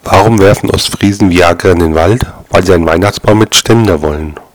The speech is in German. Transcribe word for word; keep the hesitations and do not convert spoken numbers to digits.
Warum werfen Ostfriesen Viagra in den Wald? Weil sie einen Weihnachtsbaum mit Ständer wollen.